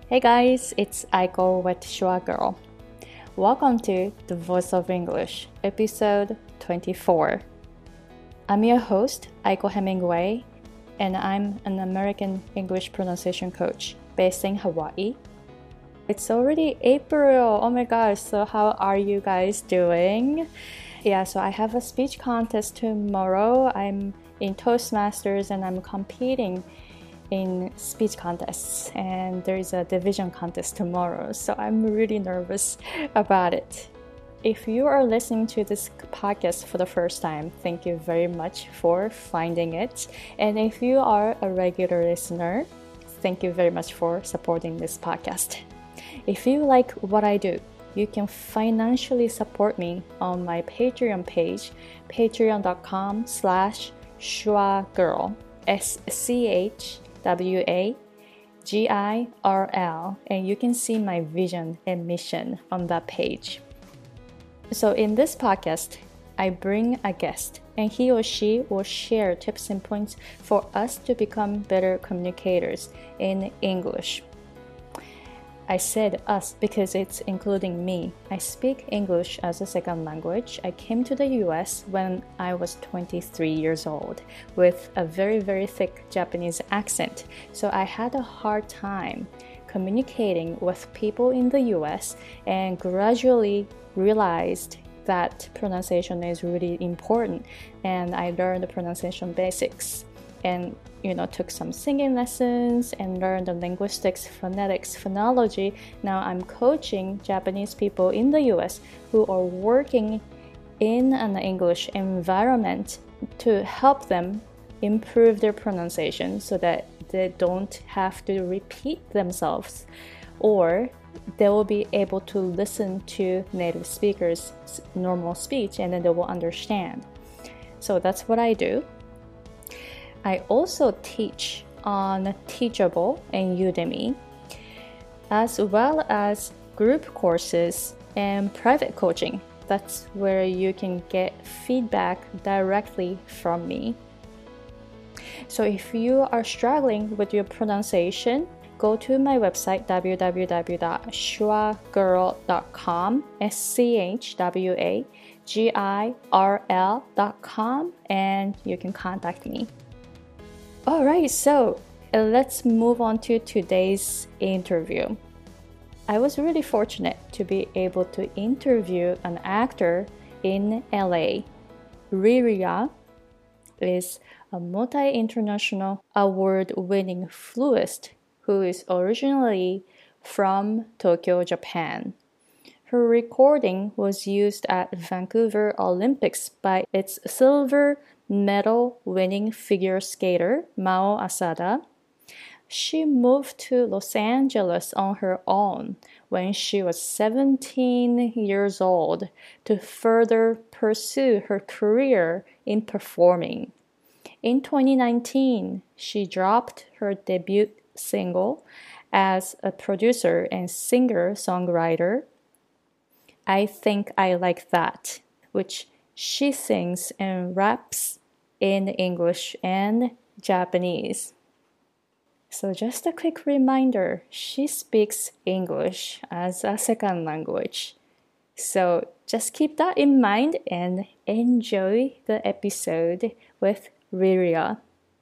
Hey guys, it's Aiko with Shua Girl. Welcome to The Voice of English, episode 24. I'm your host, Aiko Hemingway, and I'm an American English pronunciation coach based in Hawaii. It's already April. Oh my gosh, so how are you guys doing? Yeah, so I have a speech contest tomorrow. I'm in Toastmasters and I'm competing in speech contests, and there's a division contest tomorrow, so I'm really nervous about it. If you are listening to this podcast for the first time, thank you very much for finding it. And if you are a regular listener, thank you very much for supporting this podcast. If you like what I do, you can financially support me on my Patreon page, patreon.com/ShuaGirl, SCHWAGIRL, and you can see my vision and mission on that page. So in this podcast, I bring a guest and he or she will share tips and points for us to become better communicators in English. I said us because it's including me. I speak English as a second language. I came to the US when I was 23 years old with a very, very thick Japanese accent. So I had a hard time communicating with people in the US and gradually realized that pronunciation is really important. And I learned the pronunciation basics and took some singing lessons and learned the linguistics, phonetics, phonology. Now I'm coaching Japanese people in the US who are working in an English environment to help them improve their pronunciation so that they don't have to repeat themselves, or they will be able to listen to native speakers' normal speech and then they will understand. So that's what I do. I also teach on Teachable and Udemy, as well as group courses and private coaching. That's where you can get feedback directly from me. So if you are struggling with your pronunciation, go to my website www.shuagirl.com, SCHWAGIRL.com, and you can contact me. All right, so let's move on to today's interview. I was really fortunate to be able to interview an actor in LA. Riria is a multi-international award-winning flutist who is originally from Tokyo, Japan. Her recording was used at Vancouver Olympics by its silver medal-winning figure skater, Mao Asada. She moved to Los Angeles on her own when she was 17 years old to further pursue her career in performing. In 2019, she dropped her debut single as a producer and singer-songwriter, I Think I Like That, which she sings and raps in English and Japanese. So just a quick reminder, she speaks English as a second language. So just keep that in mind and enjoy the episode with Riria.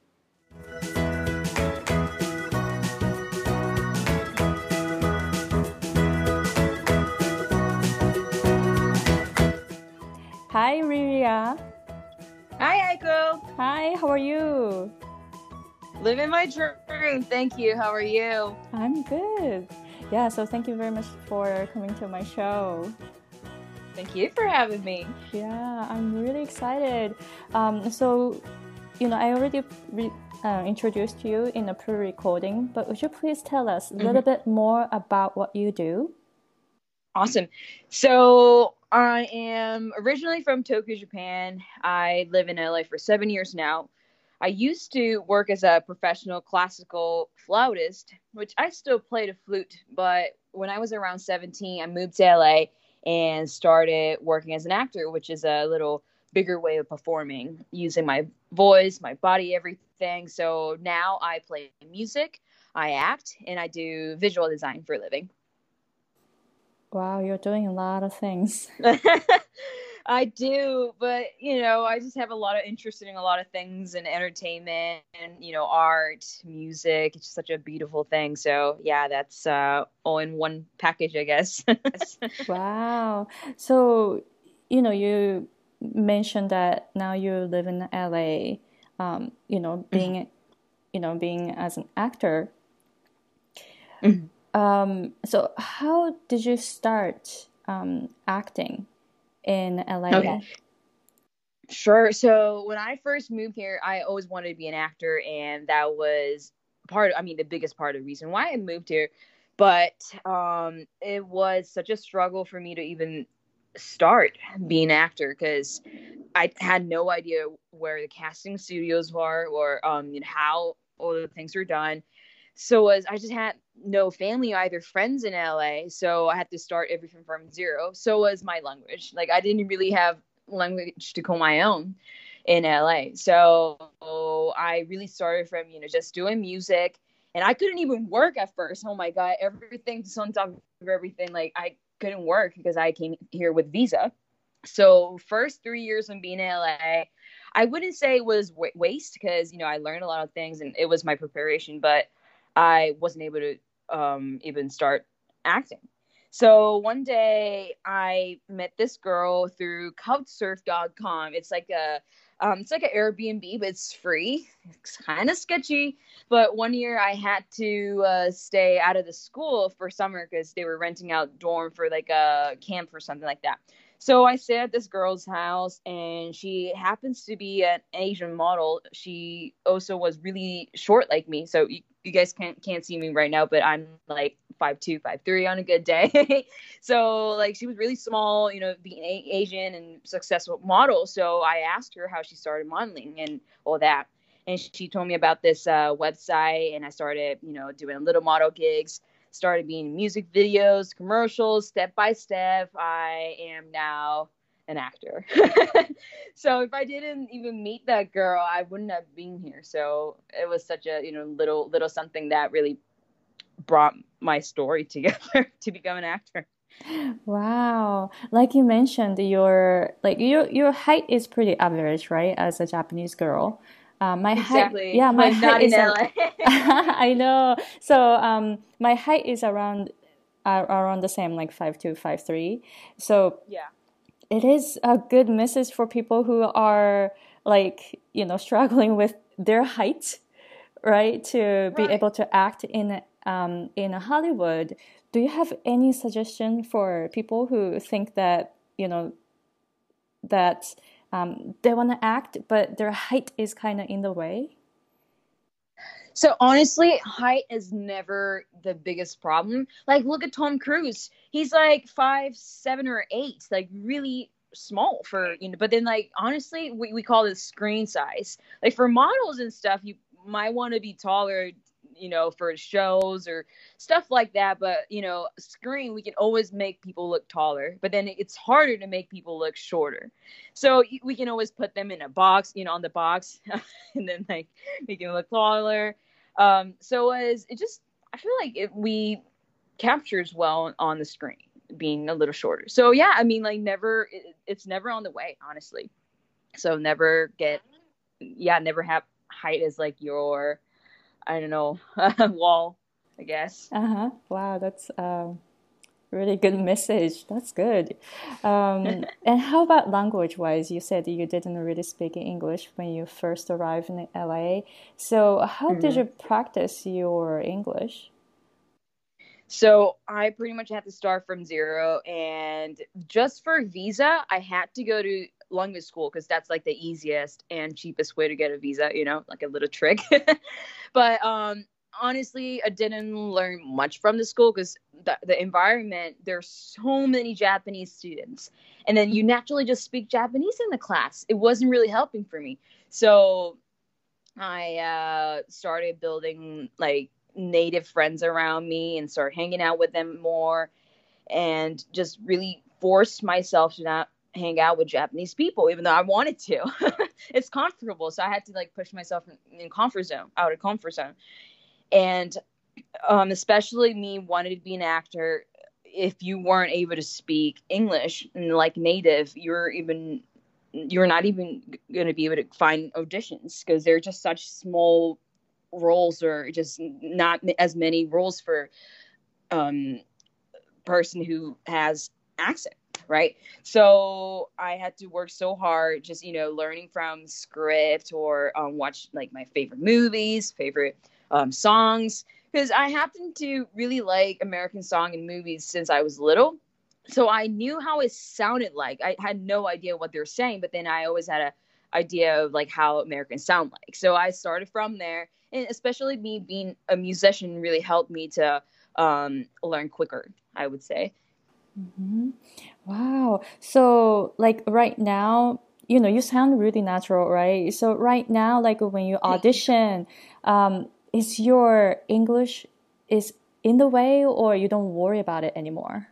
Hi, Riria. Hi, Aiko. Hi, how are you? Living my dream. Thank you. How are you? I'm good. Yeah, so thank you very much for coming to my show. Thank you for having me. Yeah, I'm really excited. So, I already introduced you in a pre-recording, but would you please tell us a little bit more about what you do? Awesome. So I am originally from Tokyo, Japan. I live in LA for 7 years now. I used to work as a professional classical flautist, which I still play the flute. But when I was around 17, I moved to LA and started working as an actor, which is a little bigger way of performing, using my voice, my body, everything. So now I play music. I act, and I do visual design for a living. Wow, you're doing a lot of things. I do, but I just have a lot of interest in a lot of things in entertainment and art, music. It's just such a beautiful thing. So yeah, that's all in one package, I guess. Wow. So, you mentioned that now you live in LA, being, being as an actor. Mhm. So how did you start acting in LA? Okay. Sure. So when I first moved here, I always wanted to be an actor, and that was the biggest part of the reason why I moved here. But it was such a struggle for me to even start being an actor because I had no idea where the casting studios were or how all the things were done. So I just had no family, either friends in LA, so I had to start everything from zero. So was my language. Like I didn't really have language to call my own in LA. So I really started from just doing music, and I couldn't even work at first. Oh my god, everything's on top of everything. Like I couldn't work because I came here with visa. So first 3 years of being in LA, I wouldn't say it was waste because I learned a lot of things and it was my preparation, but I wasn't able to even start acting. So one day I met this girl through Couchsurf.com. It's like an Airbnb, but it's free. It's kind of sketchy. But one year I had to stay out of the school for summer because they were renting out dorm for like a camp or something like that. So I stayed at this girl's house, and she happens to be an Asian model. She also was really short like me. So you guys can't see me right now, but I'm like 5'2", 5'3" on a good day. So like she was really small, being Asian and successful model. So I asked her how she started modeling and all that. And she told me about this website, and I started, doing little model gigs, started being in music videos, commercials, step by step. I am now an actor. So if I didn't even meet that girl, I wouldn't have been here. So it was such a, little something that really brought my story together to become an actor. Wow. Like you mentioned, your height is pretty average, right? As a Japanese girl. My Exactly. height, yeah, my But height not in is LA. I know. So my height is around the same, like 5'2", 5'3". So Yeah. it is a good message for people who are like, struggling with their height, right? To be Right. able to act in Hollywood. Do you have any suggestion for people who think that, that they want to act, but their height is kind of in the way? So honestly, height is never the biggest problem. Like, look at Tom Cruise. He's like 5'7" or 8", like really small for But then, like honestly, we call this screen size. Like for models and stuff, you might want to be taller, for shows or stuff like that. But screen, we can always make people look taller. But then it's harder to make people look shorter. So we can always put them in a box, on the box, and then like make them look taller. So as it just, I feel like we captures well on the screen, being a little shorter. So yeah, I mean, like it's never on the way, honestly. So never have height as like your, I don't know, wall, I guess. Uh-huh. Wow, that's really good message. That's good. And how about language wise? You said you didn't really speak English when you first arrived in LA. So how did Mhm. you practice your English? So I pretty much had to start from zero, and just for visa, I had to go to language school because that's like the easiest and cheapest way to get a visa. Like a little trick. But honestly, I didn't learn much from the school because the environment. There's so many Japanese students, and then you naturally just speak Japanese in the class. It wasn't really helping for me, so I started building like native friends around me and start hanging out with them more, and just really forced myself to not hang out with Japanese people, even though I wanted to. It's comfortable, so I had to like push myself in comfort zone, out of comfort zone. And especially me wanted to be an actor. If you weren't able to speak English and like native, you're not even going to be able to find auditions because they're just such small roles, or just not as many roles for um person who has accent, right? So I had to work so hard, just learning from script, or watch like my favorite movies, favorite songs, because I happen to really like American song and movies since I was little. So I knew how it sounded like. I had no idea what they were saying, but then I always had a idea of like how Americans sound like. So I started from there, and especially me being a musician really helped me to learn quicker, I would say. Mhm. Wow. So, like right now, you sound really natural, right? So right now, like when you Thank you. audition, is your English is in the way, or you don't worry about it anymore?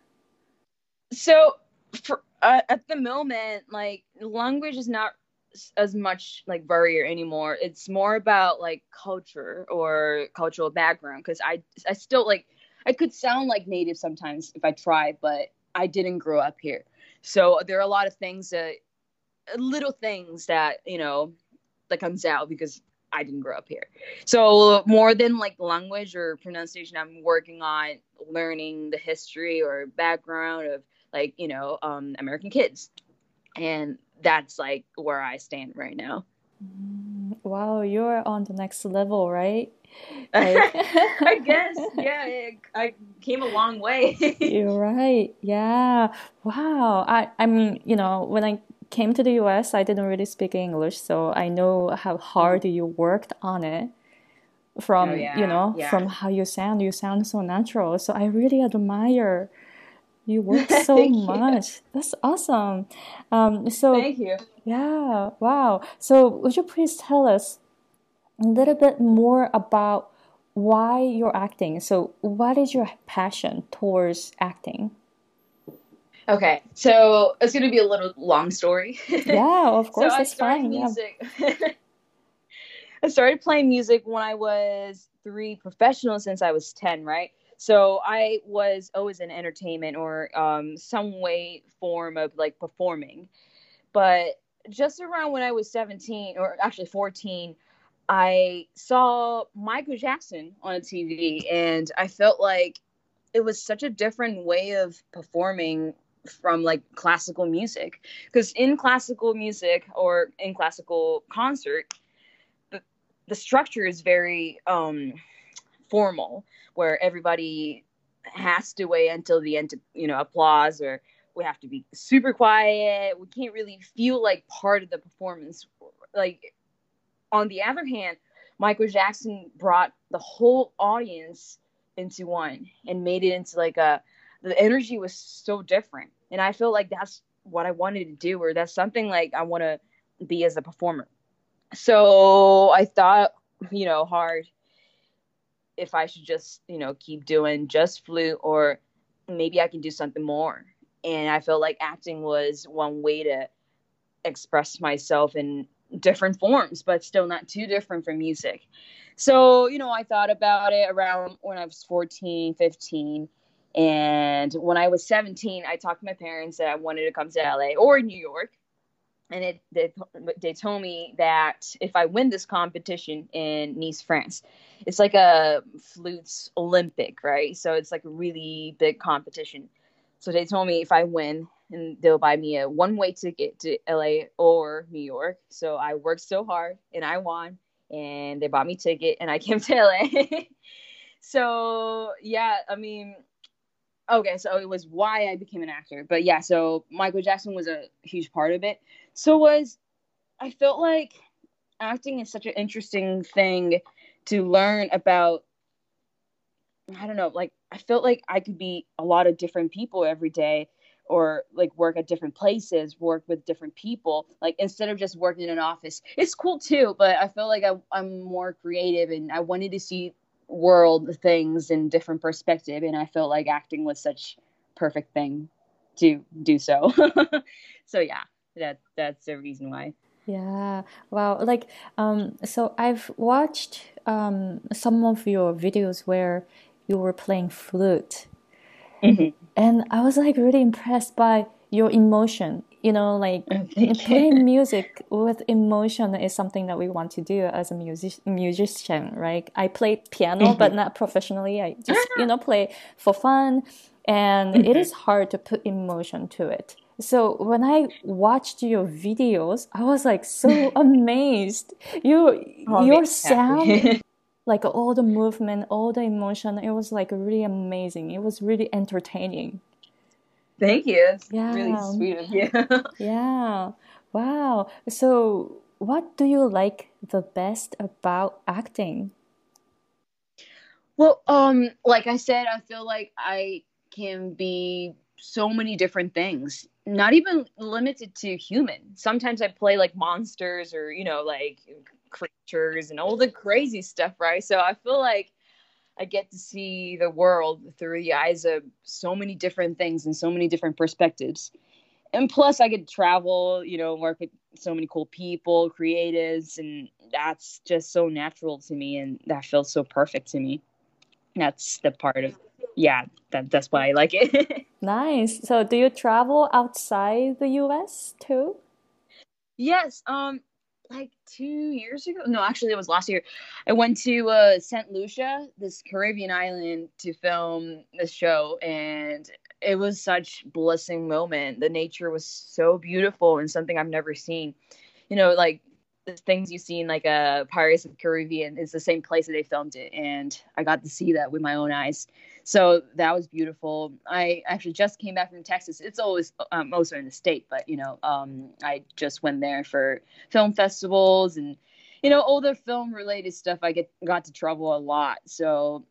So for at the moment, like language is not as much like barrier anymore. It's more about like culture or cultural background, because I still like, I could sound like native sometimes if I tried, but I didn't grow up here. So there are a lot of things that, little things that that comes out because I didn't grow up here. So more than like language or pronunciation, I'm working on learning the history or background of like American kids, and that's like where I stand right now. Wow, you're on the next level, right? Like, I guess, yeah, I came a long way. you're right. Yeah. Wow. I mean, when I came to the US, I didn't really speak English, so I know how hard you worked on it. Oh From yeah, yeah. from how you sound so natural, so I really admire you work so Thank you. much. That's awesome. So Thank you. yeah, wow. So would you please tell us a little bit more about why you're acting? So what is your passion towards acting? Okay, so it's gonna be a little long story. Yeah, of So course, I that's started fine. Yeah. music. I started playing music when I was three, professional since I was 10, right? So I was always in entertainment or some way form of like performing. But just around when I was 17, or actually 14, I saw Michael Jackson on TV, and I felt like it was such a different way of performing from like classical music. Because in classical music or in classical concert, the, the structure is very formal, where everybody has to wait until the end to applause, or we have to be super quiet. We can't really feel like part of the performance. Like, on the other hand, Michael Jackson brought the whole audience into one and made it into like the energy was so different. And I feel like that's what I wanted to do, or that's something like I want to be as a performer. So I thought, hard if I should just, keep doing just flute, or maybe I can do something more. And I felt like acting was one way to express myself in different forms, but still not too different from music. So, I thought about it around when I was 14, 15. And when I was 17, I talked to my parents that I wanted to come to LA or New York. And they told me that if I win this competition in Nice, France, it's like a flutes Olympic, right? So it's like a really big competition. So they told me if I win, and they'll buy me a one-way ticket to LA or New York. So I worked so hard and I won, and they bought me a ticket and I came to LA. So yeah, I mean, okay, so it was why I became an actor. But yeah, so Michael Jackson was a huge part of it. So was I felt like acting is such an interesting thing to learn about. I don't know, like I felt like I could be a lot of different people every day, or like work at different places, work with different people, like instead of just working in an office. It's cool too, but I feel like I'm more creative, and I wanted to see world things in different perspective, and I felt like acting was such perfect thing to do so. So yeah, that's the reason why. Yeah. Wow. Like, so I've watched some of your videos where you were playing flute, Hmm. and I was like really impressed by your emotion. You know, like Oh, thank you. playing music with emotion is something that we want to do as a musician, right? I play piano, but Hmm. not professionally. I just, play for fun, and it Hmm. is hard to put emotion to it. So when I watched your videos, I was like so amazed. Oh, it Your makes me sound, happy. like all the movement, all the emotion, it was like really amazing. It was really entertaining. Thank you. That's really Yeah. sweet of you. Yeah. Wow. So, what do you like the best about acting? Well, like I said, I feel like I can be so many different things, not even limited to human. Sometimes I play like monsters or, like creatures and all the crazy stuff, right? So I feel like I get to see the world through the eyes of so many different things and so many different perspectives. And plus, I get to travel, work with so many cool people, creatives, and that's just so natural to me, and that feels so perfect to me. That's the part of, yeah, that's why I like it. Nice. So, do you travel outside the US too? Yes, like 2 years ago. No, actually, it was last year. I went to Saint Lucia, this Caribbean island, to film the show, and it was such blessing moment. The nature was so beautiful and something I've never seen. Like the things you see in like a Pirates of the Caribbean is the same place that they filmed it, and I got to see that with my own eyes. So that was beautiful. I actually just came back from Texas. It's always also in the state, but I just went there for film festivals and all the film related stuff. I got to travel a lot, so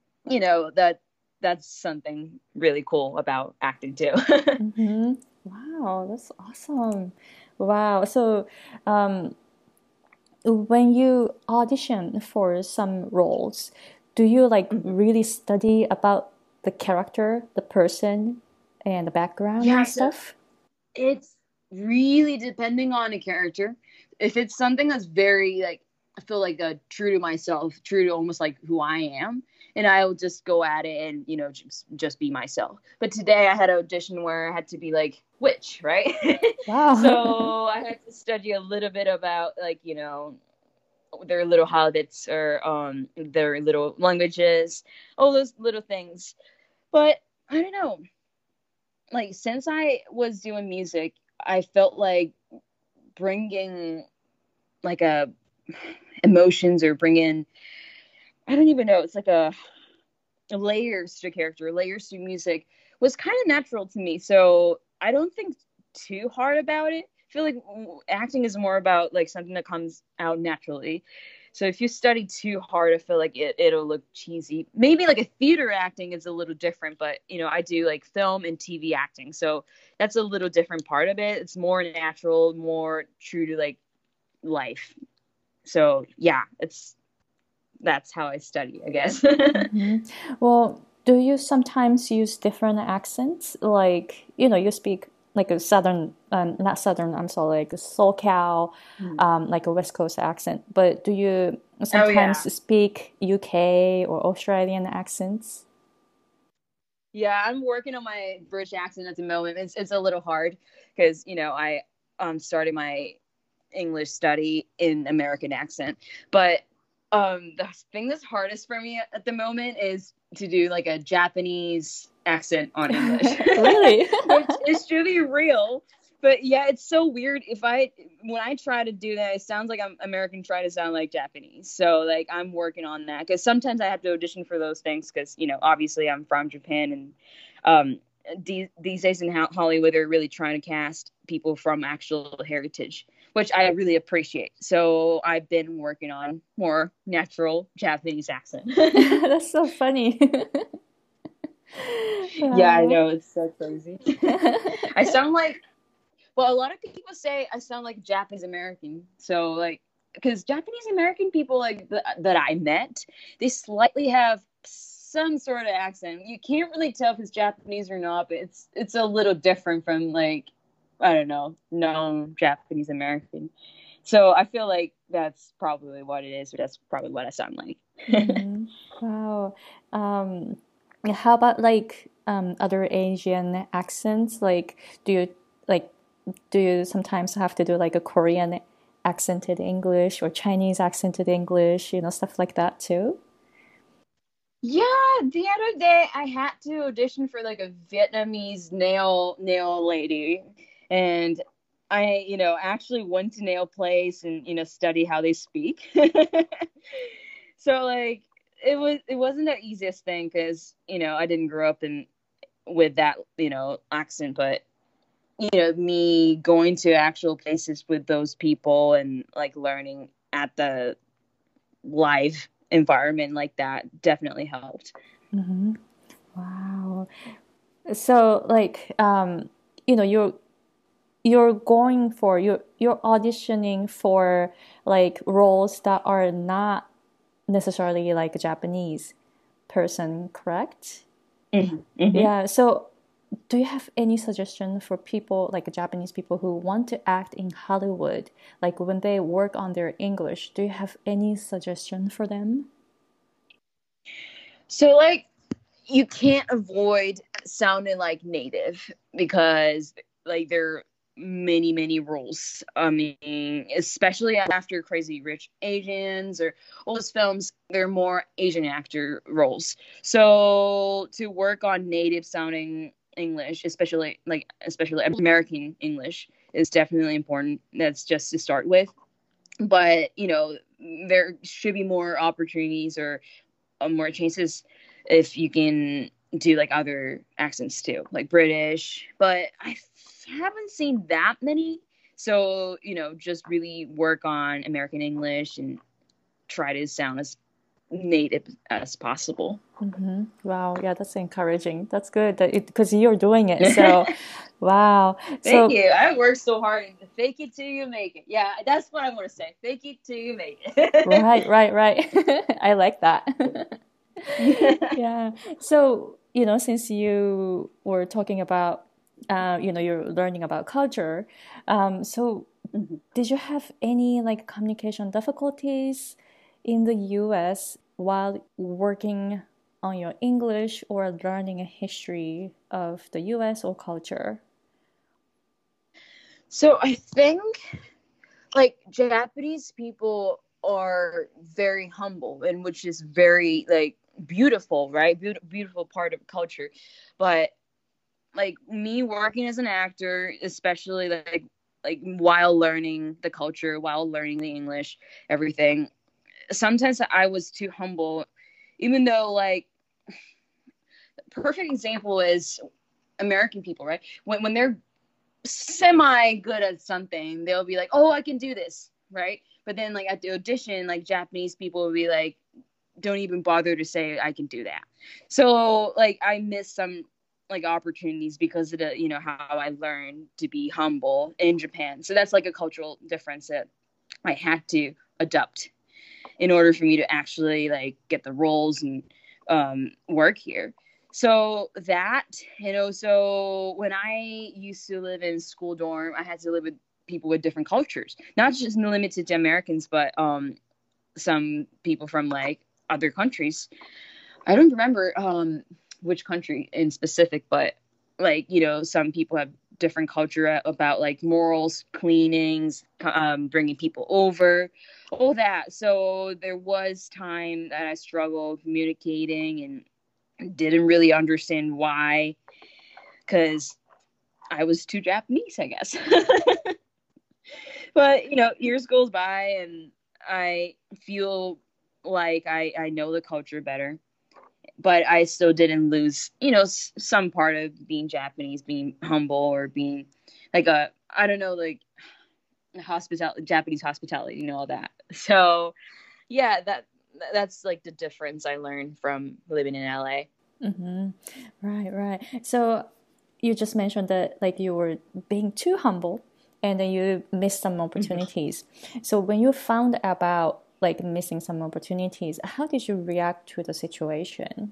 that's something really cool about acting too. Mm-hmm. Wow, that's awesome. Wow. So, um, when you audition for some roles, do you like really study about the character, the person, and the background Yeah, and so stuff? it's really depending on a character. If it's something that's very like I feel like true to myself, true to almost like who I am, and I'll just go at it and just be myself. But today I had an audition where I had to be like witch, right? Wow. So I had to study a little bit about like their little habits or their little languages, all those little things. But I don't know, like since I was doing music, I felt like bringing like a emotions or bringing I don't even know, it's like a layers to character, layers to music was kind of natural to me. So I don't think too hard about it. I feel like acting is more about like something that comes out naturally. So if you study too hard, I feel like it'll look cheesy. Maybe like a theater acting is a little different, but I do like film and TV acting. So that's a little different part of it. It's more natural, more true to like life. So yeah, that's how I study, I guess. Hmm. Well, do you sometimes use different accents? Like, you speak like a southern, not southern, I'm sorry, like a SoCal, like a West Coast accent. But do you Oh yeah. sometimes speak UK or Australian accents? Yeah, I'm working on my British accent at the moment. It's a little hard because I started my English study in American accent, but the thing that's hardest for me at the moment is to do like a Japanese accent on English, Really? which is should be real. But yeah, it's so weird. When I try to do that, it sounds like I'm American trying to sound like Japanese. So like I'm working on that because sometimes I have to audition for those things because obviously I'm from Japan and um these days in Hollywood they're really trying to cast people from actual heritage, which I really appreciate. So I've been working on more natural Japanese accent. That's so funny. Yeah, I Wow. know it's so crazy. I sound like Well, a lot of people say I sound like Japanese American. So like, because Japanese American people like that I met, they slightly have some sort of accent. You can't really tell if it's Japanese or not, but it's a little different from like I don't know, known Japanese American. So I feel like that's probably what it is, or that's probably what I sound like. Mm-hmm. Wow. Um, how about like other Asian accents? Like, like do you sometimes have to do like a Korean accented English or Chinese accented English, stuff like that too? Yeah, the other day I had to audition for like a Vietnamese nail lady, and I, actually went to nail place and study how they speak. So like it wasn't the easiest thing because I didn't grow up in with that accent, but me going to actual places with those people and like learning at the live environment like that definitely helped. Mm-hmm. Wow. So like you're going for you're auditioning for like roles that are not necessarily like a Japanese person, correct? Hmm. Hmm. Yeah. So do you have any suggestion for people like Japanese people who want to act in Hollywood, like when they work on their English? Do you have any suggestion for them? So like you can't avoid sounding like native because like there are many rules. I mean, especially after Crazy Rich Asians or all those films, there are more Asian actor roles. So to work on native sounding English, especially American English, is definitely important. That's just to start with. But there should be more opportunities or more chances if you can do like other accents too, like British. But I haven't seen that many. So, just really work on American English and try to sound as native as possible. Mm-hmm. Wow, yeah, that's encouraging. That's good that because you're doing it. So, wow. Thank So, you. I worked so hard. Fake it till you make it. Yeah, that's what I want to say. Fake it till you make it. right, right, right. I like that. Yeah. So, since you were talking about, you're learning about culture, so Mhm. did you have any like communication difficulties in the US while working on your English or learning a history of the US or culture? So I think like Japanese people are very humble and which is very like beautiful, right? Beautiful part of culture. But like me working as an actor, especially like while learning the culture, while learning the English, everything, sometimes I was too humble, even though like perfect example is American people, right? When they're semi good at something, they'll be like, "Oh, I can do this," right? But then, like at the audition, like Japanese people will be like, "Don't even bother to say I can do that." So, like, I missed some like opportunities because of the how I learned to be humble in Japan. So that's like a cultural difference that I had to adopt in order for me to actually like get the roles and work here. So that, so when I used to live in school dorm, I had to live with people with different cultures, not just limited to Americans, but some people from like other countries. I don't remember which country in specific, but like some people have different culture about like morals, cleanings, bringing people over, all that. So there was time that I struggled communicating and didn't really understand why, because I was too Japanese, I guess. But years goes by and I feel like I know the culture better, but I still didn't lose, some part of being Japanese, being humble or being like I don't know, like Japanese hospitality, all that. So yeah, that's like the difference I learned from living in LA. Mm-hmm. Right, right. So you just mentioned that like you were being too humble and then you missed some opportunities. So when you found about like missing some opportunities, how did you react to the situation?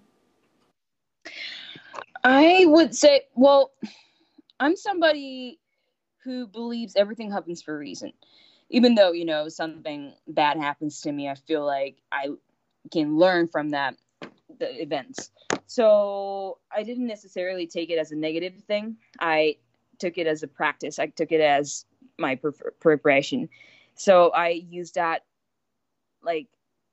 I would say, well, I'm somebody who believes everything happens for a reason. Even though, something bad happens to me, I feel like I can learn from the events. So I didn't necessarily take it as a negative thing. I took it as a practice. I took it as my preparation. So I used that, like,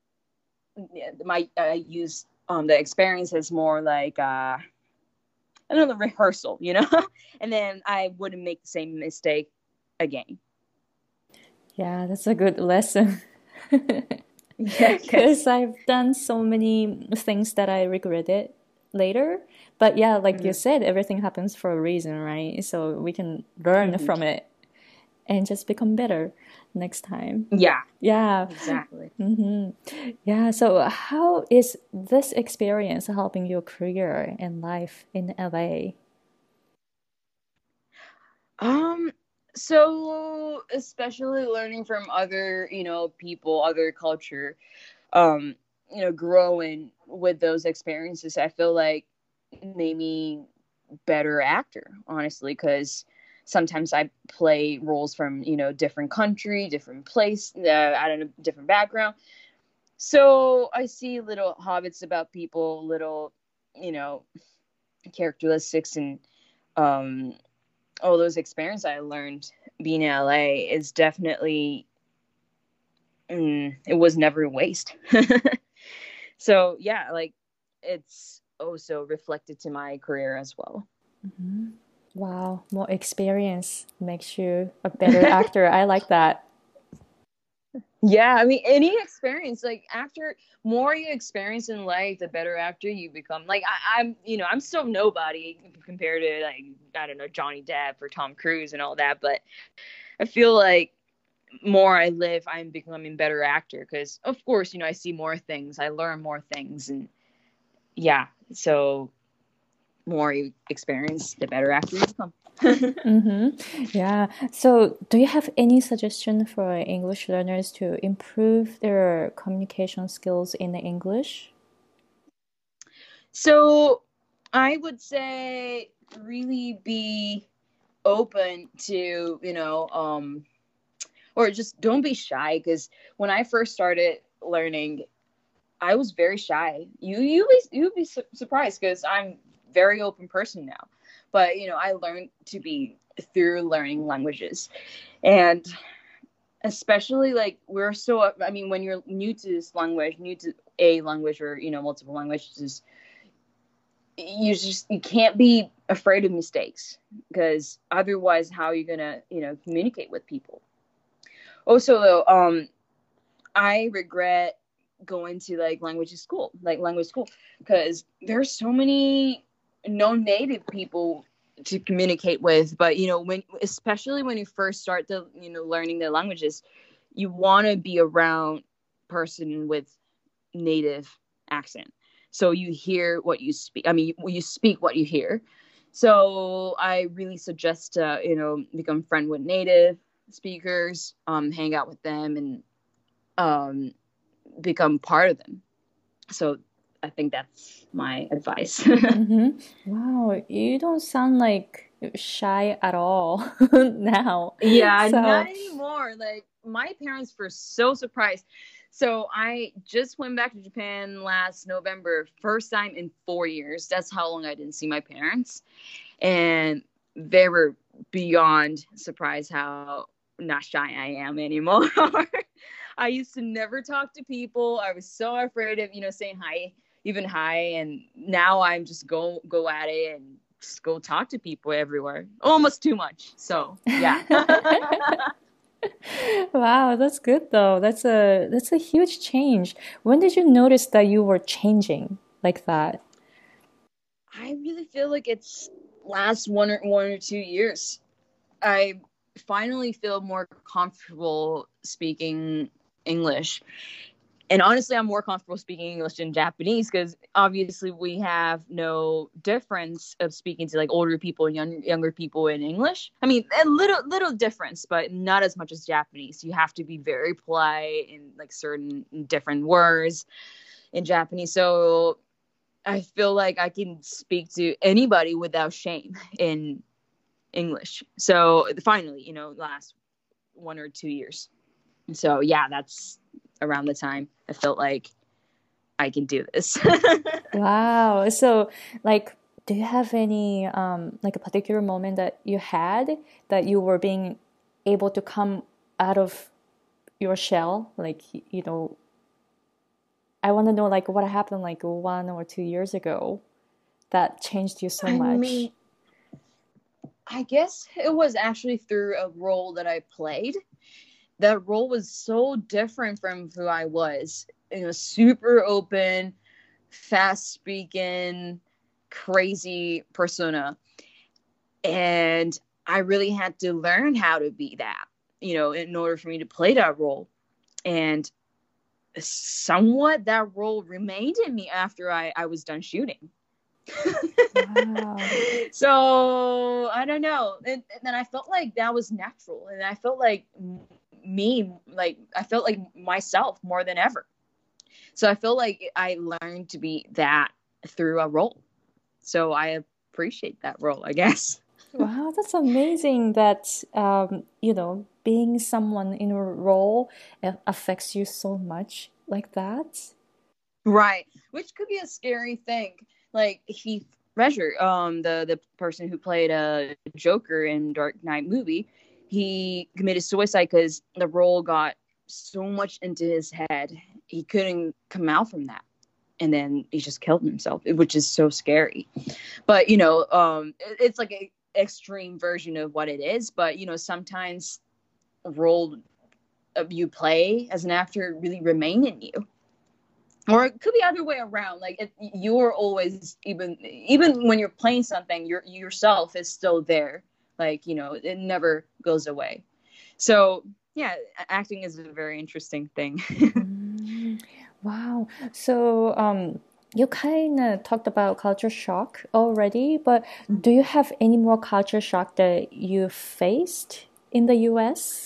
I used the experience as more like, the rehearsal, and then I wouldn't make the same mistake again. Yeah, that's a good lesson. Yeah, Because I've done so many things that I regretted later. But yeah, like you said, everything happens for a reason, right? So we can learn from it and just become better next time. Yeah. Yeah. Exactly. Yeah. So how is this experience helping your career and life in LA? So especially learning from other, people, other culture, growing with those experiences, I feel like made me better actor, honestly, because sometimes I play roles from, different country, different place, I don't know, different background. So I see little hobbits about people, little, characteristics, and um, all those experiences I learned being in LA is definitely, it was never a waste. So yeah, like, it's also reflected to my career as well. Wow, more experience makes you a better actor. I like that. Yeah, I mean, any experience, like, after more you experience in life, the better actor you become. Like, I'm still nobody compared to, like, I don't know, Johnny Depp or Tom Cruise and all that, but I feel like more I live, I'm becoming better actor because, of course, I see more things, I learn more things, and yeah, so more you experience, the better actor you become. Yeah. So, do you have any suggestion for English learners to improve their communication skills in English? So I would say really be open to, or just don't be shy, because when I first started learning, I was very shy. You'd be surprised because I'm very open person now. But I learned to be through learning languages, and especially, like, I mean, when you're new to this language, new to a language, or multiple languages, you can't be afraid of mistakes, because otherwise how are you gonna communicate with people. Also, though, I regret going to, like, language school, because there's so many non-native people to communicate with. But especially when you first start the learning the languages, you want to be around person with native accent, so you hear what you speak. I mean, you speak what you hear. So I really suggest to become friend with native speakers, hang out with them, and um, become part of them. So I think that's my advice. Wow, you don't sound like shy at all now. Yeah, not So, anymore. Like, my parents were so surprised. So I just went back to Japan last November, first time in 4 years. That's how long I didn't see my parents. And they were beyond surprised how not shy I am anymore. I used to never talk to people. I was so afraid of, saying hi, even hi. And now I'm just go at it and just go talk to people everywhere. Almost too much. So yeah. wow, that's good though. That's a huge change. When did you notice that you were changing like that? I really feel like it's last 1 or 2 years. I finally feel more comfortable speaking English. And honestly, I'm more comfortable speaking English than Japanese, because obviously we have no difference of speaking to, like, older people and younger people in English. I mean, a little difference, but not as much as Japanese. You have to be very polite in, like, certain different words in Japanese. So I feel like I can speak to anybody without shame in English. So finally, last 1 or 2 years. So yeah, that's around the time I felt like I can do this. Wow. So, like, do you have any like a particular moment that you had that you were being able to come out of your shell? Like, I want to know like what happened like 1 or 2 years ago that changed you so I much. mean, I guess it was actually through a role that I played. That role was so different from who I was. It was super open, fast speaking, crazy persona. And I really had to learn how to be that, in order for me to play that role. And somewhat that role remained in me after I was done shooting. Wow. So I don't know. And then I felt like that was natural. And I felt like I felt like myself more than ever. So I feel like I learned to be that through a role. So I appreciate that role, I guess. Wow, that's amazing that being someone in a role affects you so much like that. Right. Which could be a scary thing. Like Heath Ledger, the person who played Joker in Dark Knight movie, he committed suicide because the role got so much into his head. He couldn't come out from that. And then he just killed himself, which is so scary. But, it's like an extreme version of what it is. But, sometimes a role you play as an actor really remain in you. Or it could be other way around. Like you're always, even when you're playing something, yourself is still there. Like, it never goes away. So yeah, acting is a very interesting thing. Wow. So, you kind of talked about culture shock already, but do you have any more culture shock that you faced in the US?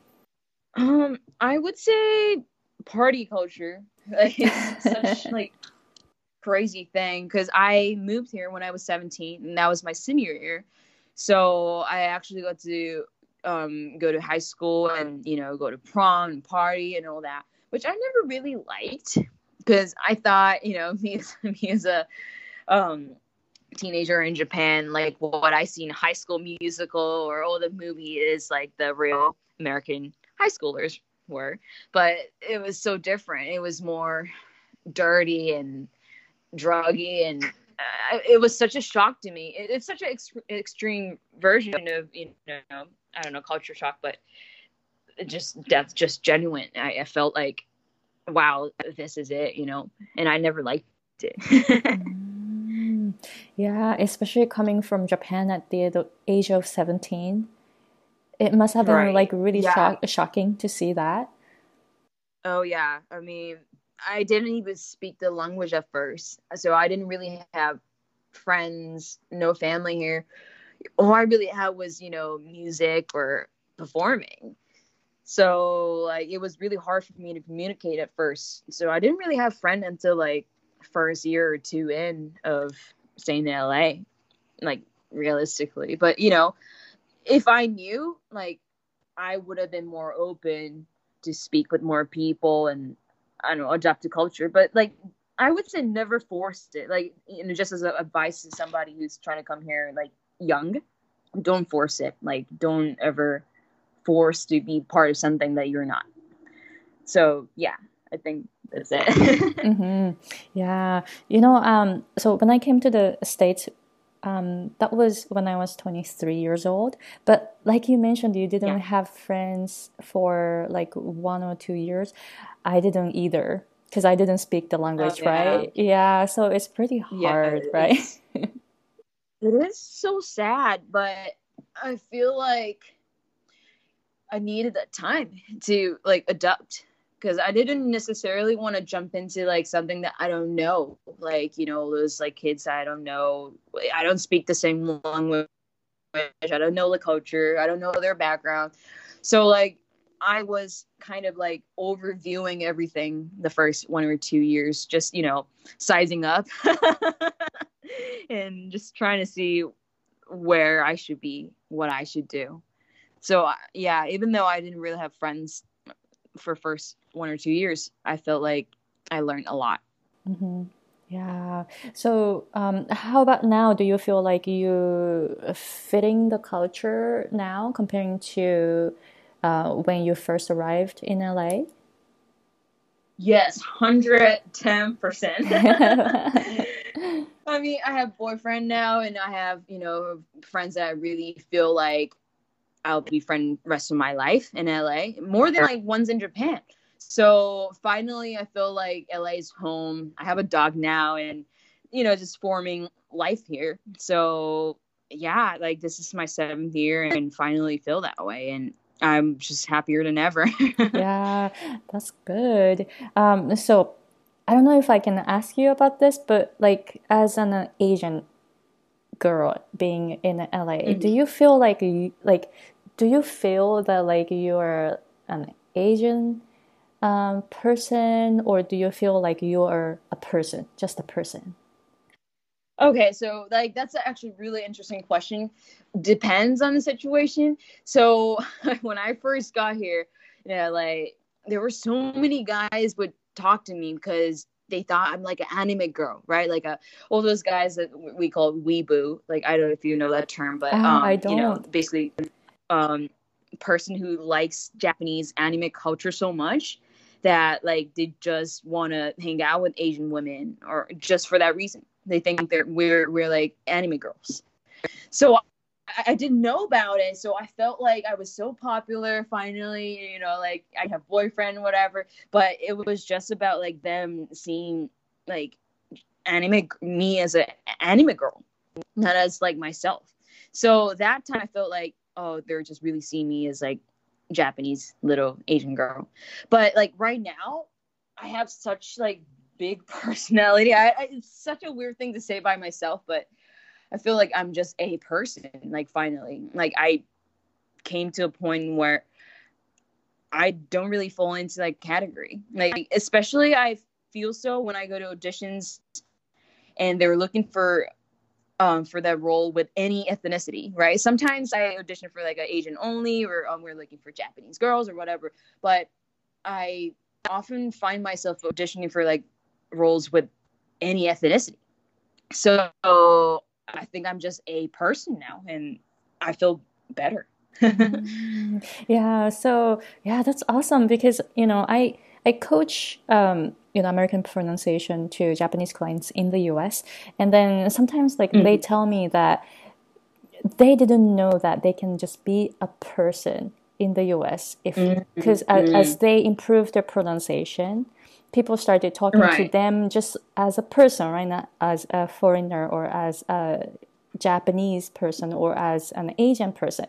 I would say party culture. Like, it's such like crazy thing because I moved here when I was 17, and that was my senior year. So I actually got to go to high school and go to prom and party and all that, which I never really liked because I thought me as a teenager in Japan, like what I see in High School Musical or all the movie is like the real American high schoolers were, but it was so different. It was more dirty and druggy, and it was such a shock to me. It's such an extreme version of I don't know, culture shock, but that's just genuine. I felt like, wow, this is it, and I never liked it. Yeah, especially coming from Japan at the age of 17. It must have been like Right. really Yeah. shocking to see that. Oh yeah. I mean, I didn't even speak the language at first, so I didn't really have friends, no family here. All I really had was music or performing. So like it was really hard for me to communicate at first. So I didn't really have friends until like first year or two in of staying in LA, like realistically. But if I knew, like, I would have been more open to speak with more people and I don't know, adapt to culture. But like I would say never forced it. Like, just as a advice to somebody who's trying to come here like young, don't force it. Like, don't ever force to be part of something that you're not. So yeah, I think that's it. Mm-hmm. Yeah. So when I came to the States, that was when I was 23 years old. But like you mentioned, you didn't Yeah. have friends for like 1 or 2 years. I didn't either because I didn't speak the Oh language, yeah. right? Yeah. So it's pretty Yeah. hard, right? It is so sad, but I feel like I needed that time to like adapt because I didn't necessarily want to jump into like something that I don't know, like those like kids I don't know. I don't speak the same language. I don't know the culture. I don't know their background. So like I was kind of like overviewing everything the first 1 or 2 years, just sizing up and just trying to see where I should be, what I should do. So yeah, even though I didn't really have friends for first 1 or 2 years, I felt like I learned a lot. Mm-hmm. Yeah. So, how about now? Do you feel like you fitting the culture now comparing to when you first arrived in LA? Yes, 110%. I mean, I have boyfriend now, and I have, friends that I really feel like I'll be friend rest of my life in LA, more than like ones in Japan. So finally, I feel like LA is home. I have a dog now, and just forming life here. So yeah, like this is my 7th year, and finally feel that way, and I'm just happier than ever. Yeah, that's good. So I don't know if I can ask you about this, but like as an Asian girl being in LA, do Mhm. you feel like do you feel that like you're an Asian person, or do you feel like you're a person, just a person? Okay, so like that's actually a really interesting question. Depends on the situation. So when I first got here, like there were so many guys would talk to me because they thought I'm like an anime girl, right? Like all those guys that we call weeboo. Like I don't know if you know that term, but I don't. basically um person who likes Japanese anime culture so much that like they just want to hang out with Asian women or just for that reason. They think that we're like anime girls. So I didn't know about it. So I felt like I was so popular finally, like I have boyfriend, whatever. But it was just about like them seeing like me as an anime girl, not as like myself. So that time I felt like, oh, they're just really seeing me as like Japanese little Asian girl. But like right now, I have such like big personality. It's such a weird thing to say by myself, but I feel like I'm just a person. Like finally, like I came to a point where I don't really fall into like category. Like especially I feel so when I go to auditions and they're looking for that role with any ethnicity, right? Sometimes I audition for like an Asian only, or we're looking for Japanese girls or whatever. But I often find myself auditioning for like roles with any ethnicity. So I think I'm just a person now, and I feel better. Yeah, so yeah, that's awesome because I coach American pronunciation to Japanese clients in the US, and then sometimes like they Mhm. tell me that they didn't know that they can just be a person in the US if because as Mhm. they improve their pronunciation, people started talking to Right. them just as a person, right? Not as a foreigner or as a Japanese person or as an Asian person.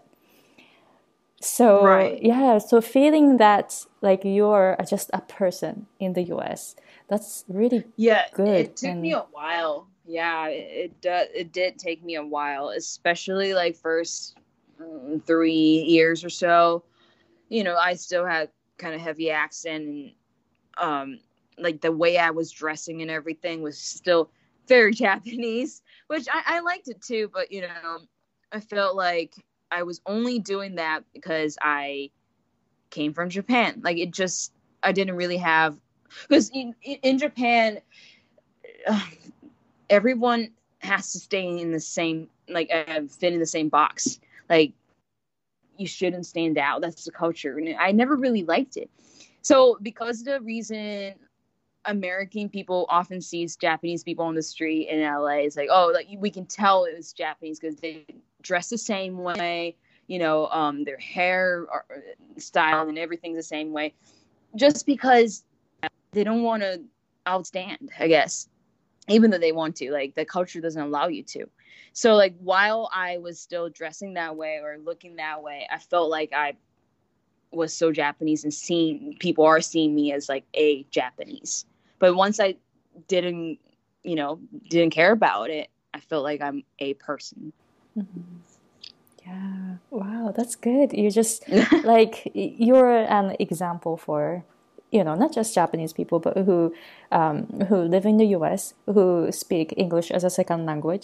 So Right. yeah, so feeling that like you're just a person in the US, that's really Yeah, good. it took me And a while. Yeah, it did take me a while, especially like first 3 years or so. I still had kind of heavy accent, and like the way I was dressing and everything was still very Japanese, which I liked it too. But I felt like I was only doing that because I came from Japan. Like it just I didn't really have because in Japan uh, everyone has to stay in the same like fit in the same box. Like you shouldn't stand out. That's the culture, and I never really liked it. So because of the reason American people often sees Japanese people on the street in LA, it's like, oh, like we can tell it was Japanese because they dress the same way. Their hair style and everything's the same way. Just because they don't want to outstand, I guess, even though they want to, like the culture doesn't allow you to. So like while I was still dressing that way or looking that way, I felt like I was so Japanese and seeing people are seeing me as like a Japanese. But once I didn't, didn't care about it, I felt like I'm a person. yeah, wow, that's good. You just like you're an example for not just Japanese people, but who live in the US, who speak English as a second language.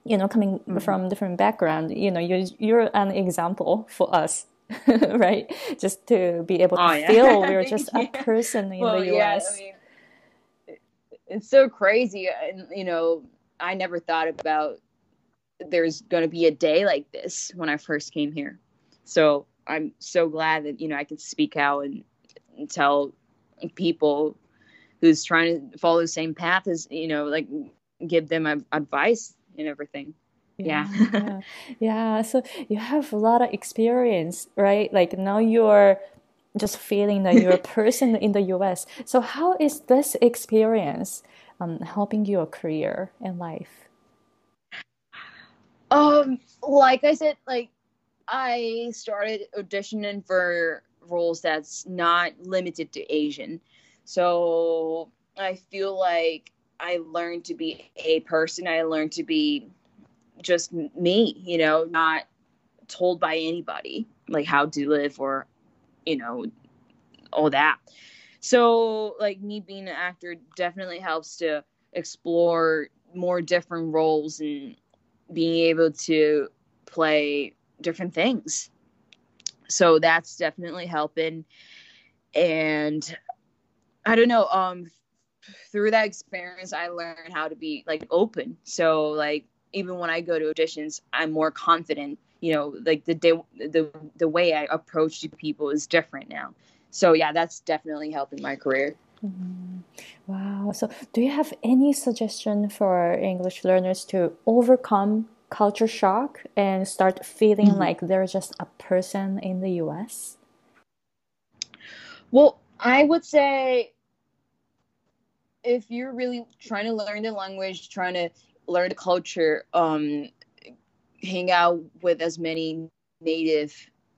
coming from different background, you're an example for us, right? Just to be able to feel we're just a person in the US. Yeah, I mean, it's so crazy. And, I never thought about there's going to be a day like this when I first came here. So I'm so glad that, I can speak out and tell people who's trying to follow the same path as, like give them advice and everything. Yeah. So you have a lot of experience, right? Like now you're just feeling that you're a person in the US. So how is this experience helping your career and life? Like I said, like I started auditioning for roles that's not limited to Asian. So I feel like I learned to be a person. I learned to be just me, not told by anybody like how to live or, all that. So like me being an actor definitely helps to explore more different roles and being able to play different things. So that's definitely helping. And I don't know, through that experience, I learned how to be like open. So like, even when I go to auditions, I'm more confident, like the way I approach people is different now. So yeah, that's definitely helping my career. Mm-hmm. Wow. So do you have any suggestion for English learners to overcome culture shock and start feeling like they're just a person in the US? Well, I would say if you're really trying to learn the language, trying to learn the culture, hang out with as many native,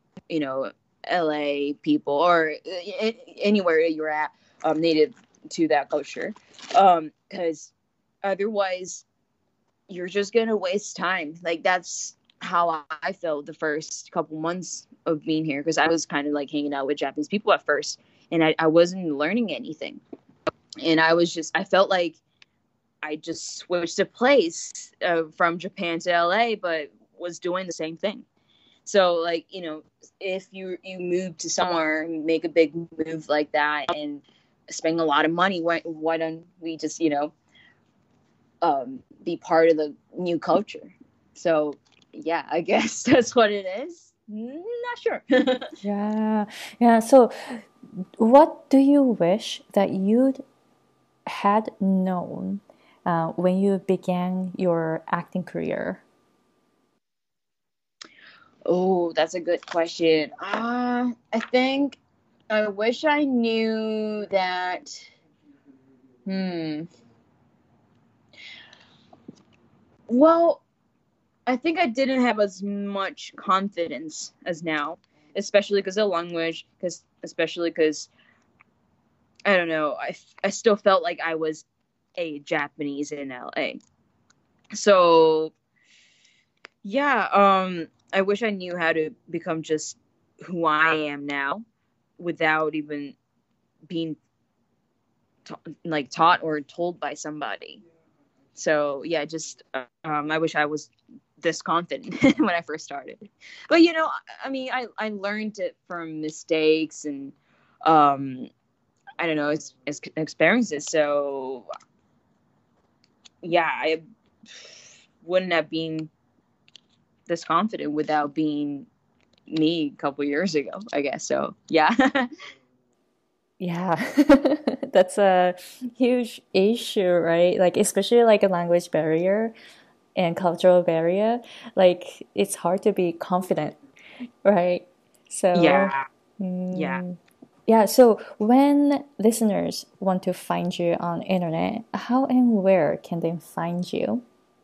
LA people or anywhere you're at, native to that culture. Because otherwise you're just going to waste time. Like that's how I felt the first couple months of being here. Cause I was kind of like hanging out with Japanese people at first and I wasn't learning anything. And I felt like I just switched a place from Japan to LA, but was doing the same thing. So like, if you move to somewhere, make a big move like that and spend a lot of money, why don't we just, be part of the new culture? So yeah, I guess that's what it is. Not sure. Yeah. So what do you wish that you'd had known when you began your acting career? Oh, that's a good question. I think I wish I knew that. Well, I think I didn't have as much confidence as now, especially because of language, especially because, I don't know, I still felt like I was a Japanese in LA. So, yeah, I wish I knew how to become just who I am now without even being taught or told by somebody. So yeah, just I wish I was this confident when I first started. But I mean, I learned it from mistakes and I don't know, it's experiences. So yeah, I wouldn't have been this confident without being me a couple years ago, I guess. So yeah. Yeah, that's a huge issue, right? Like especially like a language barrier and cultural barrier. Like it's hard to be confident, right? So yeah. So when listeners want to find you on internet, how and where can they find you?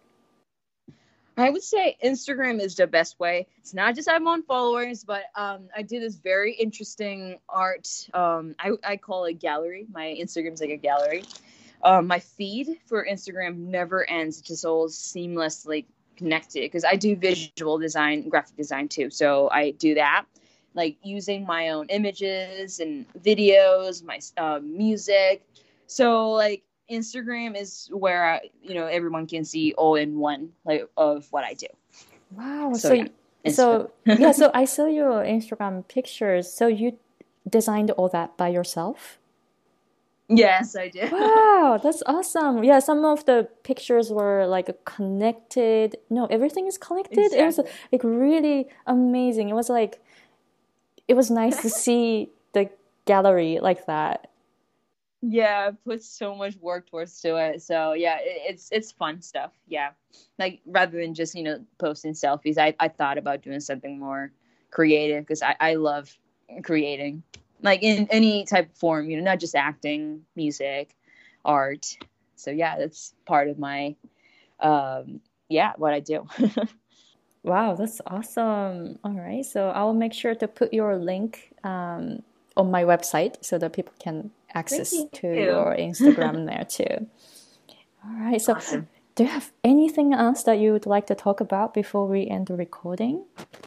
I would say Instagram is the best way. It's not just I'm on followers, but I do this very interesting art. I call it gallery. My Instagram's like a gallery. My feed for Instagram never ends. It's just all seamlessly connected because I do visual design, graphic design too. So I do that, like using my own images and videos, my music. So like Instagram is where everyone can see all in one like of what I do. Wow. So yeah. So I saw your Instagram pictures. So you designed all that by yourself? Yes, I did. Wow, that's awesome. Yeah, some of the pictures were like connected. No, everything is connected. It was Exactly. like really amazing. It was nice to see the gallery like that. Yeah, I put so much work towards to it. So yeah, it's fun stuff. Yeah, like rather than just posting selfies, I thought about doing something more creative because I love creating, like in any type of form. Not just acting, music, art. So yeah, that's part of my what I do. Wow, that's awesome. All right, so I'll make sure to put your link on my website so that people can access Thank to you. your Instagram there too. All right, so Awesome. do you have anything else that you would like to talk about before we end the recording?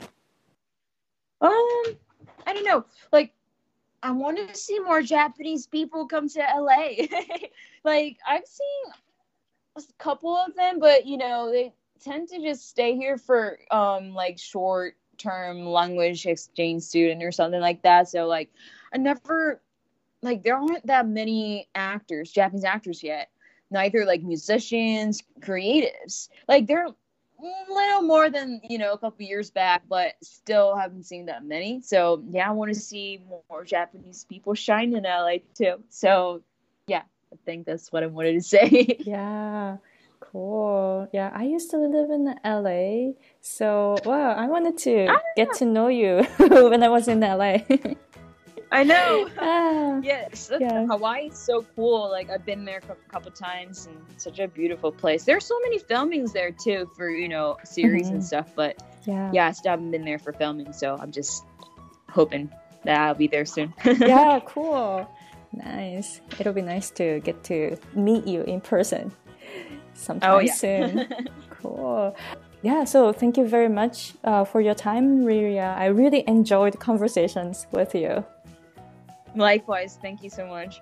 I don't know. Like, I want to see more Japanese people come to LA. Like, I've seen a couple of them, but they tend to just stay here for like short term language exchange student or something like that. So like, I never like there aren't that many actors, Japanese actors yet. Neither like musicians, creatives. Like they're a little more than a couple years back, but still haven't seen that many. So yeah, I want to see more Japanese people shine in LA too. So yeah, I think that's what I wanted to say. Yeah, cool. Yeah, I used to live in LA, so wow, I wanted to get to know you when I was in LA. I know. Ah, Yes, yeah. Hawaii is so cool. Like I've been there a couple times, and such a beautiful place. There's so many filmings there too for series and stuff. But Yeah. yeah, I still haven't been there for filming, so I'm just hoping that I'll be there soon. Yeah, cool. Nice. It'll be nice to get to meet you in person sometime soon. Cool. Yeah, so thank you very much for your time, Riria. I really enjoyed conversations with you. Likewise, thank you so much.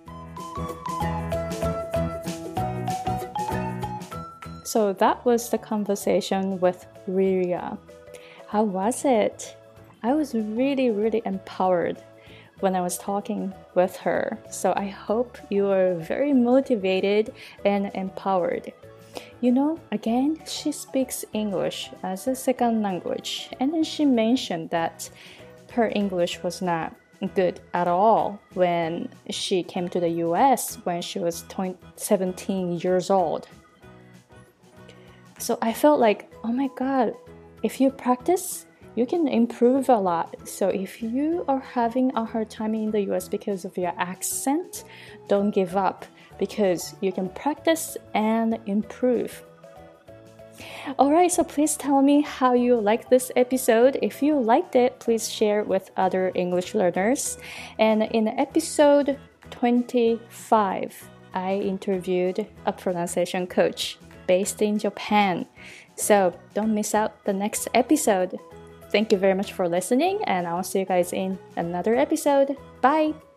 So that was the conversation with Riria. How was it? I was really, really empowered when I was talking with her. So I hope you are very motivated and empowered. Again, she speaks English as a second language, and then she mentioned that her English was not good at all when she came to the US when she was 17 years old. So I felt like, oh my God, if you practice, you can improve a lot. So if you are having a hard time in the US because of your accent, don't give up because you can practice and improve. Alright, so please tell me how you liked this episode. If you liked it, please share it with other English learners. And in episode 25, I interviewed a pronunciation coach based in Japan. So don't miss out the next episode. Thank you very much for listening, and I'll see you guys in another episode. Bye!